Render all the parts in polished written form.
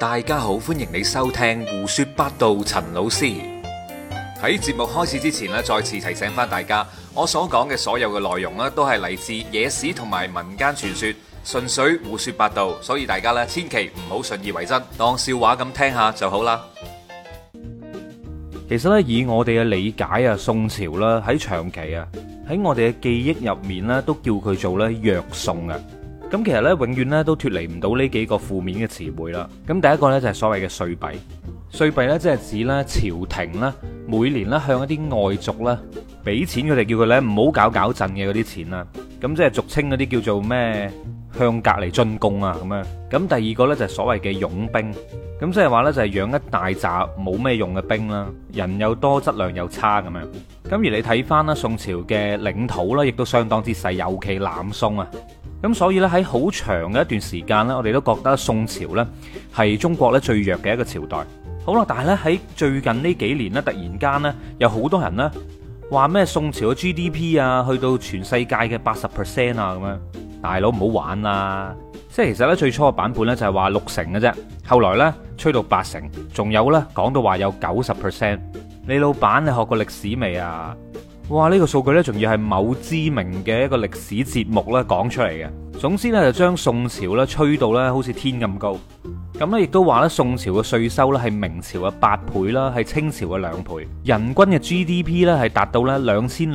大家好，歡迎你收聽胡說八道。陳老師喺節目開始之前咧，再次提醒翻大家，我所講嘅所有嘅內容咧，都係嚟自野史同埋民間傳說，純粹胡說八道，所以大家咧千祈唔好信以為真，當笑話咁聽下就好啦。 其實咧，以我哋嘅理解啊，宋朝啦喺長期啊喺我哋嘅記憶入面咧，都叫佢做咧弱宋啊。咁其實咧，永遠咧都脫離唔到呢幾個負面嘅詞彙啦。咁第一個咧就係所謂嘅歲幣，歲幣咧即係指咧朝廷咧每年咧向一啲外族咧俾錢佢哋，叫佢咧唔好搞震嘅嗰啲錢啦。咁即係俗稱嗰啲叫做咩向隔離進貢啊咁樣。咁第二個咧就係所謂嘅傭兵，咁即係話咧就係養一大紮冇咩用嘅兵啦，人又多質量又差咁樣。咁而你睇翻啦，宋朝嘅領土啦，亦都相當之細，尤其南宋啊。咁所以咧喺好長嘅一段時間咧，我哋都覺得宋朝咧係中國咧最弱嘅一個朝代。好啦，但係咧喺最近呢幾年咧，突然間咧有好多人咧話咩宋朝嘅 GDP 啊，去到全世界嘅80%啊咁樣。大佬唔好玩啦！即係其實咧最初嘅版本咧就係話60%嘅啫，後來咧吹到80%，仲有咧講到話有90%。你老闆你學過歷史未啊？哇！呢個數據呢，仲要係某知名嘅一個歷史節目呢講出嚟嘅。總之呢，就將宋朝呢吹到呢好似天咁高。咁呢，亦都話呢，宋朝嘅稅收呢係明朝嘅8倍啦，係清朝嘅2倍。人均嘅 GDP 呢係達到呢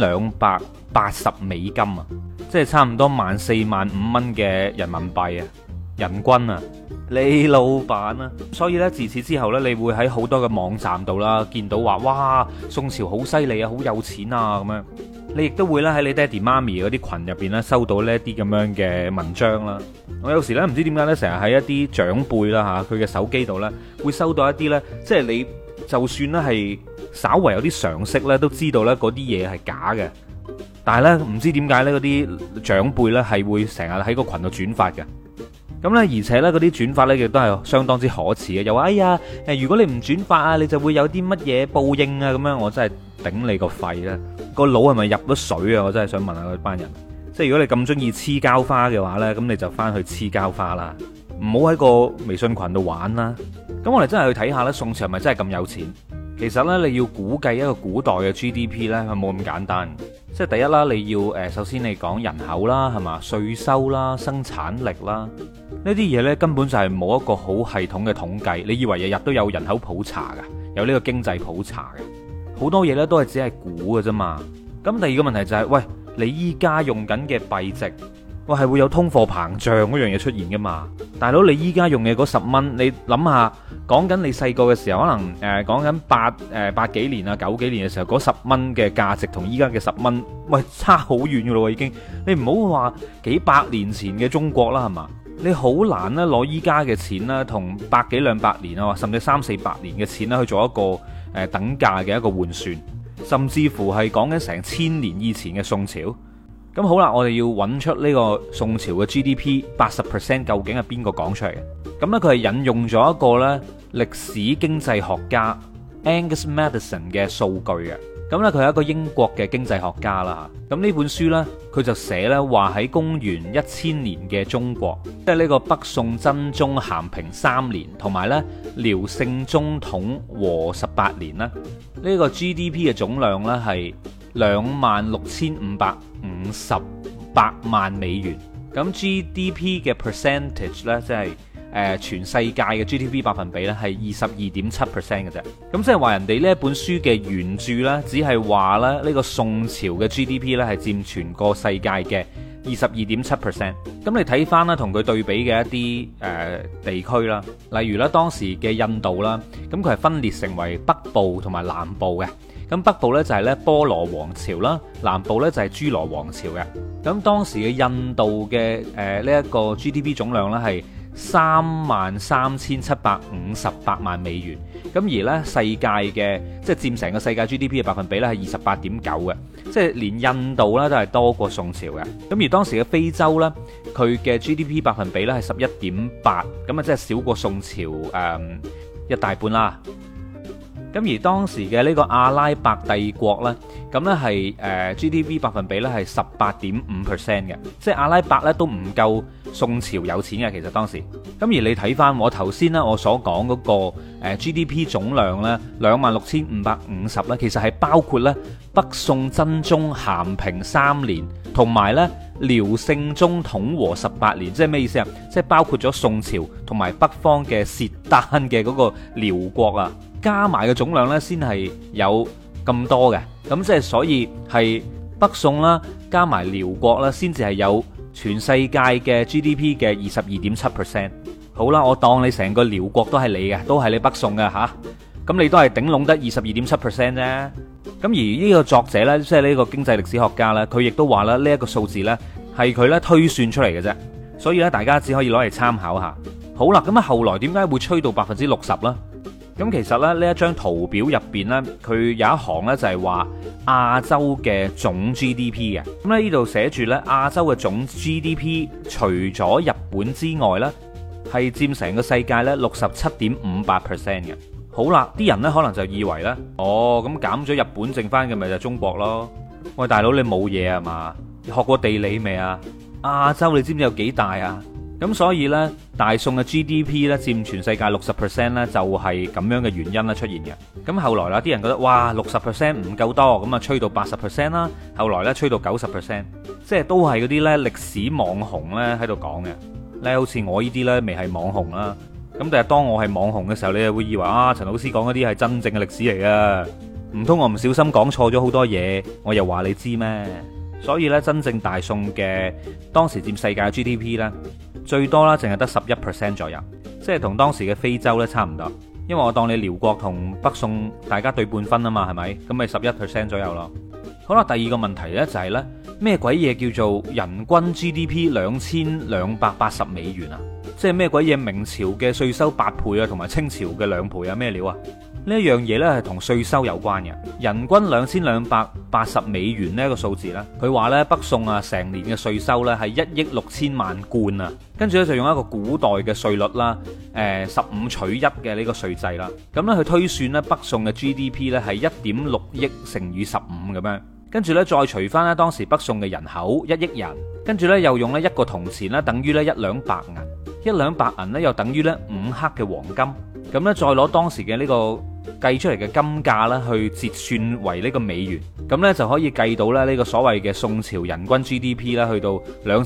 2280美金啊，即係差唔多14,000-15,000蚊嘅人民幣啊，人均啊。你老闆啊，所以咧自此之後咧，你會喺好多嘅網站度啦，見到話哇，宋朝好犀利啊，好有錢啊咁樣。你亦都會咧喺你爹哋媽咪嗰啲群入邊咧收到呢一啲咁樣嘅文章啦。我有時咧唔知點解咧，成日喺一啲長輩啦嚇佢嘅手機度咧，會收到一啲咧，即係你就算咧係稍為有啲常識咧，都知道咧嗰啲嘢係假嘅。但係咧唔知點解咧嗰啲長輩咧係會成日喺個群度轉發嘅。咁咧，而且咧嗰啲轉發咧亦都係相當之可恥嘅，又話哎呀，如果你唔轉發啊，你就會有啲乜嘢報應啊咁樣。我真係頂你個肺啦！個腦係咪入咗水啊？我真係想問下嗰班人。即係如果你咁中意黐膠花嘅話咧，咁你就翻去黐膠花啦，唔好喺個微信群度玩啦。咁我哋真係去睇下咧，宋朝係咪真係咁有錢？其實咧，你要估計一個古代嘅 GDP 咧，係冇咁簡單。即係第一啦，你要首先你講人口啦，係嘛，稅收啦，生產力啦，呢啲嘢呢，根本就係冇一個好系統嘅統計。你以為日日都有人口普查噶，有呢個經濟普查嘅，好多嘢呢都係只係估嘅啫嘛。咁第二個問題就係，喂，你依家用緊嘅幣值，喂係會有通貨膨脹嗰樣嘢出現噶嘛？大佬，你依家用嘅嗰10蚊，你諗下，講緊你細個嘅時候，可能講緊八幾年啊9幾年嘅時候，嗰10蚊嘅價值同依家嘅10蚊，喂差好遠噶咯已經。你唔好話幾百年前嘅中國啦，係嘛？你好難咧攞依家嘅錢啦，同百幾兩百年啊，甚至300-400年嘅錢啦去做一個等價嘅一個換算，甚至乎係講緊成1000年以前嘅宋朝。咁好啦，我哋要揾出呢個宋朝嘅 GDP 80% 究竟係邊個講出嚟嘅？咁呢，佢係引用咗一個呢歷史經濟學家 Angus Maddison 嘅數據嘅。咁呢，佢係一個英國嘅經濟學家啦。咁呢本書呢，佢就寫呢話喺公元1000年嘅中國，即係呢個北宋真宗咸平3年同埋呢遼聖宗統和18年呢，呢個 GDP 嘅總量呢係26,558萬美元。咁 GDP 嘅 percentage 呢，即係全世界嘅 GDP 百分比呢，係22.7% 嘅啫。咁即係話人哋呢一本書嘅原著呢，只係話咧呢個宋朝嘅 GDP 呢係佔全個世界嘅22.7%。咁你睇翻啦，同佢對比嘅一啲地區啦，例如咧當時嘅印度啦，咁佢係分裂成為北部同埋南部嘅。咁北部呢就係咧波羅王朝啦，南部呢就係諸羅王朝嘅。咁當時嘅印度嘅呢一個 GDP 總量呢係33,758萬美元。咁而呢世界嘅即係佔成個世界 GDP 嘅百分比呢係28.9嘅，即係連印度呢都係多過宋朝嘅。咁而當時嘅非洲呢，佢嘅 GDP 百分比呢係11.8，咁啊即係少過宋朝一大半啦。 咁而當時嘅呢個阿拉伯帝國呢，咁呢係GDP 百分比呢係18.5% 嘅，即係阿拉伯呢都唔夠宋朝有錢嘅。其實當時，咁而你睇翻我頭先呢我所講嗰個GDP 總量呢26,550呢，其實係包括呢北宋真宗咸平3年同埋呢遼聖宗統和18年，即係咩意思啊？即係包括咗宋朝同埋北方嘅契丹嘅嗰個遼國啊，加埋嘅總量呢先係有咁多嘅。咁即係所以係北宋啦，加埋遼國啦，先至係有全世界嘅 GDP 嘅22.7%。好啦，我當你成個遼國都係你嘅，都係你北宋嘅吓，咁你都係頂籠得22.7% 啫。咁而呢個作者呢，即係呢個經濟歷史學家呢，佢亦都話啦，呢一個數字呢係佢呢推算出嚟嘅啫，所以呢，大家只可以攞嚟參考下。好啦，咁啊後來點解會吹到60%呢？咁其實咧呢一張圖表入邊呢，佢有一行呢就係話亞洲嘅總 GDP 嘅。咁咧呢度寫住呢亞洲嘅總 GDP 除咗日本之外呢，係佔成個世界呢67.58% 嘅。好啦，啲人呢可能就以為呢，哦咁減咗日本剩翻嘅咪就係中國咯。喂，大佬你冇嘢啊嘛？你學過地理未啊？亞洲你知唔知有幾大啊？咁所以呢，大宋嘅 GDP 呢佔全世界60% 呢，就係咁樣嘅原因啦出現嘅。咁後來啦，啲人覺得哇60% 唔夠多，咁啊吹到80% 啦。後來呢，吹到90%，即係都係嗰啲呢歷史網紅呢喺度講嘅。呢好似我呢啲呢，未係網紅啦。咁但係當我係網紅嘅時候，你就會以為啊，陳老師講嗰啲係真正嘅歷史嚟嘅，唔通我唔小心講錯咗好多嘢，我又話你知咩？所以呢，真正大宋嘅當時佔世界嘅 GDP 呢，最多啦，淨係得11% 左右，即係同當時嘅非洲呢差唔多。因為我當你遼國同北宋大家對半分啊嘛，係咪？咁咪11% 左右咯。好啦，第二個問題呢就係呢，咩鬼嘢叫做人均 GDP 2280美元啊？即係咩鬼嘢？明朝嘅稅收8倍啊，同埋清朝嘅2倍啊？咩料啊？呢一樣嘢呢係同稅收有關嘅。人均2280美元呢一個數字呢，佢話呢北宋啊成年嘅稅收呢係1億6千萬貫啊，跟住呢，就用一個古代嘅稅率啦，15取1嘅呢個稅制啦，咁呢，佢推算呢北宋嘅 GDP 呢係1.6億乘以15咁樣，跟住呢，再除翻呢當時北宋嘅人口1億人，跟住呢，又用呢1個銅錢呢等於呢1兩白銀，1兩白銀呢又等於呢5克嘅黃金，咁呢，再攞當時嘅呢個計出嚟嘅金價啦，去折算為呢個美元，咁呢就可以計到咧呢個所謂嘅宋朝人均 GDP 啦，去到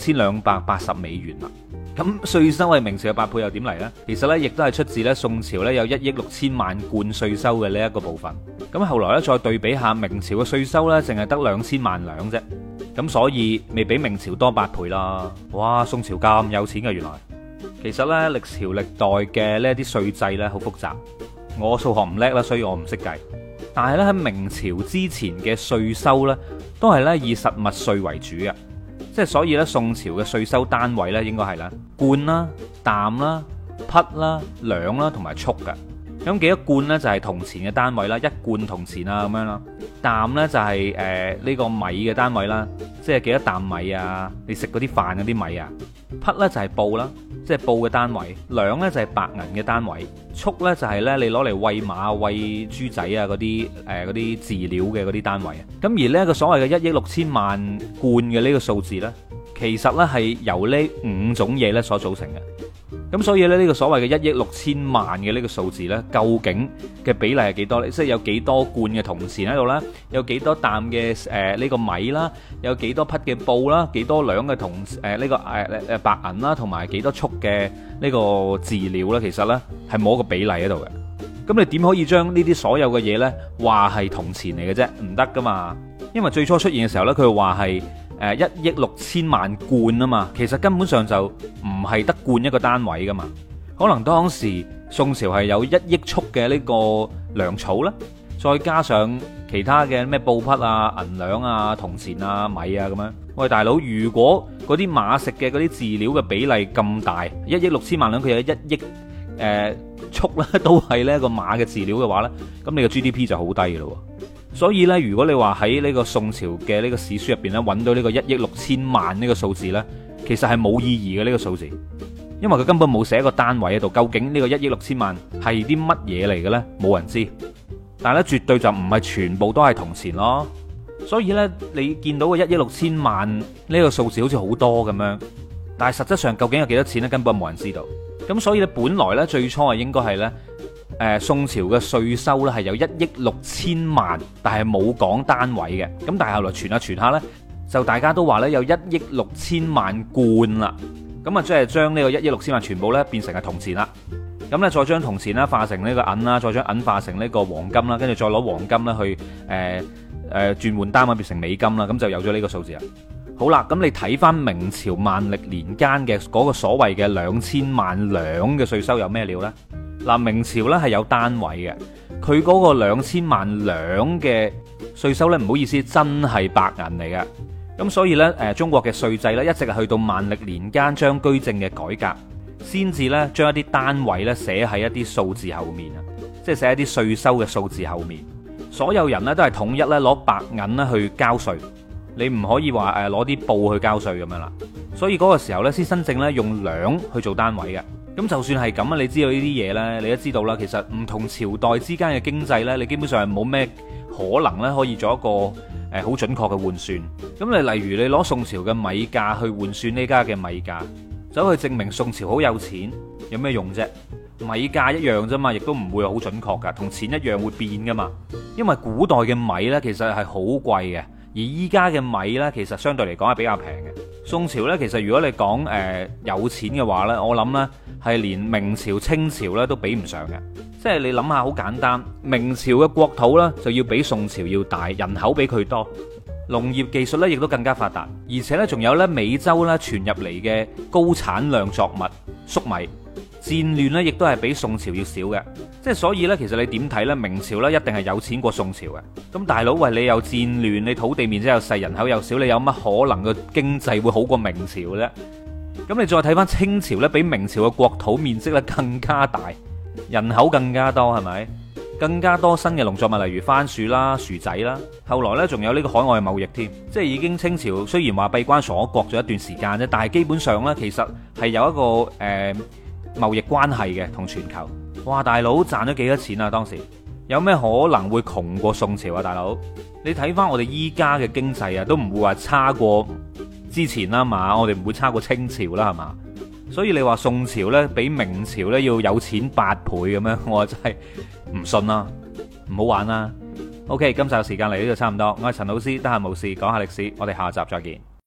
2280美元啦。咁稅收係明朝嘅8倍又點嚟呢？其實呢亦都係出自呢宋朝呢有1億6千萬貫稅收嘅呢一個部分。咁後來呢，再對比下明朝嘅稅收呢，淨係得2000萬兩啫。咁所以未比明朝多8倍啦。哇！宋朝咁有錢嘅原來。其實呢，歷朝歷代嘅呢啲稅制呢，好複雜。我數學唔叻啦，所以我唔識計。但係咧喺明朝之前嘅稅收呢，都係咧以實物稅為主嘅，即係所以咧宋朝嘅稅收單位咧應該係啦貫啦、擔啦、匹啦、兩啦同埋束嘅。咁幾多貫呢？就係銅錢嘅單位啦，一貫銅錢啊咁樣啦。擔呢，就係呢個米嘅單位啦，即係幾多擔米啊？你食嗰啲飯嗰啲米啊。匹呢，就係布啦，即係布嘅單位。兩呢，就係白銀嘅單位。束呢，就係咧你攞嚟餵馬、餵豬仔啊嗰啲飼料嘅嗰啲單位啊。咁而呢一個所謂嘅1億6千萬貫嘅呢個數字呢，其實呢係由呢5種嘢呢所組成嘅。咁所以咧呢個所謂嘅1億6千萬嘅呢個數字呢，究竟嘅比例係幾多呢？即係有幾多貫嘅銅錢喺度啦，有幾多擔嘅呢個米啦，有幾多匹嘅布啦，幾多兩嘅呢個白銀啦，同埋幾多束嘅呢個飼料啦，其實呢係冇一個比例喺度嘅。咁你點可以將呢啲所有嘅嘢呢話係銅錢嚟嘅啫？唔得噶嘛，因為最初出現嘅時候呢，佢話係1億6千萬貫啊嘛，其實根本上就唔係得貫一個單位噶嘛，可能當時宋朝係有1億束嘅呢個糧草啦，再加上其他嘅咩布匹啊、銀兩啊、銅錢啊、米啊咁樣。喂，大佬，如果嗰啲馬食嘅嗰啲飼料嘅比例咁大，1億6千萬兩，佢有1億束啦，都係呢個馬嘅飼料嘅話呢，咁你個 GDP 就好低嘅咯。所以咧，如果你話喺呢個宋朝嘅呢個史書入邊咧，揾到呢個1億6千萬呢個數字呢，其實係冇意義嘅呢個數字，因為佢根本冇寫一個單位喺度。究竟呢個1億6千萬係啲乜嘢嚟嘅呢？冇人知。 但係咧絕對就唔係全部都係銅錢咯。所以呢，你見到嘅1億6千萬呢個數字好似好多咁樣，但係實質上究竟有幾多錢呢？根本冇人知道。咁所以呢，本來呢，最初係應該係呢，宋朝嘅稅收呢係有1億6千萬，但係冇講單位嘅。咁但係後來傳下傳下呢，就大家都話呢有1億6千萬貫啦。咁啊，即係將呢個1億6千萬全部呢變成係銅錢啦。咁呢，再將銅錢啦化成呢個銀啦，再將銀化成呢個黃金啦，跟住再攞黃金啦去轉換單位變成美金啦，咁就有咗呢個數字啦。好啦，咁你睇翻明朝萬歷年間嘅嗰個所謂嘅2000萬兩嘅稅收有咩料呢？嗱，明朝呢係有單位嘅，佢嗰個2000萬兩嘅稅收呢，唔好意思，真係白銀嚟嘅。咁所以呢，中國嘅稅制呢，一直係去到萬歷年間張居正嘅改革，先至呢將一啲單位呢寫喺一啲數字後面啊，即係寫一啲稅收嘅數字後面。所有人咧都係統一咧攞白銀咧去交稅，你唔可以話攞啲布去交稅咁樣啦。所以嗰個時候咧先真正咧用兩去做單位嘅。咁就算係咁啊，你知道呢啲嘢呢，你都知道啦。其實唔同朝代之間嘅經濟呢，你基本上係冇咩可能咧可以做一個好準確嘅換算。咁你例如你攞宋朝嘅米價去換算呢家嘅米價，走去證明宋朝好有錢，有咩用啫？米價一樣啫嘛，亦都唔會好準確噶，同錢一樣會變噶嘛。因為古代嘅米呢，其實係好貴嘅，而依家嘅米呢，其實相對嚟講係比較平嘅。宋朝呢，其實如果你講有錢嘅話呢，我諗呢係連明朝、清朝呢都比唔上嘅。即係你諗下，好簡單，明朝嘅國土呢就要比宋朝要大，人口比佢多，農業技術呢亦都更加發達，而且呢仲有呢美洲呢傳入嚟嘅高產量作物粟米。戰亂咧，亦都係比宋朝要少嘅，即係所以呢，其實你點睇呢？明朝呢一定係有錢過宋朝嘅。咁大佬，喂，你有戰亂，你土地面積又細，人口又少，你有乜可能個經濟會好過明朝呢？咁你再睇翻清朝呢，比明朝嘅國土面積咧更加大，人口更加多，係咪？更加多新嘅農作物，例如番薯啦、薯仔啦。後來呢，仲有呢個海外貿易添，即係已經清朝雖然話閉關鎖國咗一段時間啫，但係基本上呢，其實係有一個貿易關係嘅同全球。哇，大佬賺咗幾多錢啊？當時有咩可能會窮過宋朝啊？大佬，你睇翻我哋依家嘅經濟啊，都唔會話差過之前啦嘛，我哋唔會差過清朝啦，係嘛？所以你話宋朝呢，比明朝呢要有錢8倍咁樣，我真係唔信啦，唔好玩啦。OK，今集時間嚟呢度差唔多，我係陳老師，得閒無事講下歷史，我哋下集再見。